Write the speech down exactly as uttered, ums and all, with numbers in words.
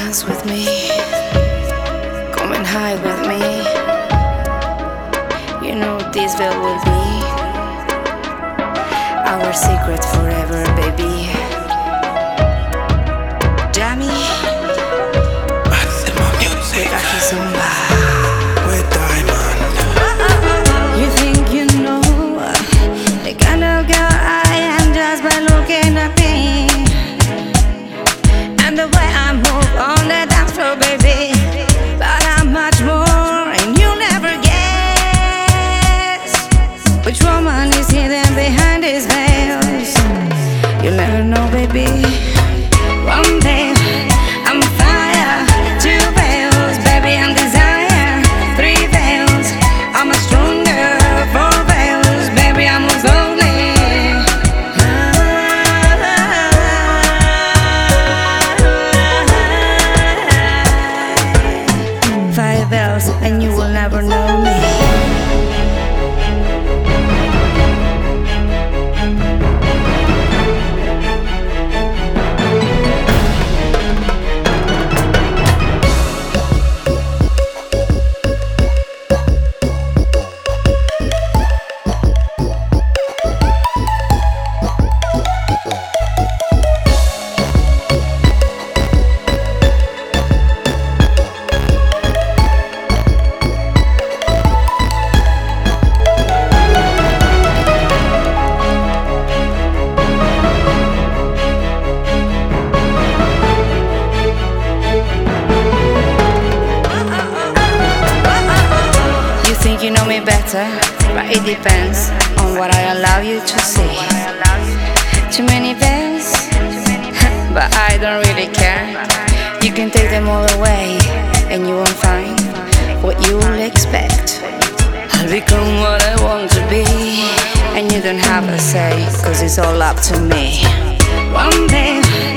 dance with me? Come and hide with me. You know this veil will be our secret forever, baby. Jammy, with Aki Zumba, with Diamond. You think you know the kind of girl I am just by looking at me and the way I move on the dance floor, baby. But I'm much more, and you'll never guess which woman is hidden behind these veils. You'll never know, baby. One day I'm fire, two veils, baby, I'm desire. Three veils, I'm a stronger. Four veils, baby, I'm most lonely. Five veils, and you will never know me. Think you know me better, but it depends on what I allow you to see. Too many veils, but I don't really care. You can take them all away, and you won't find what you will expect. I'll become what I want to be, and you don't have a say, cause it's all up to me. One day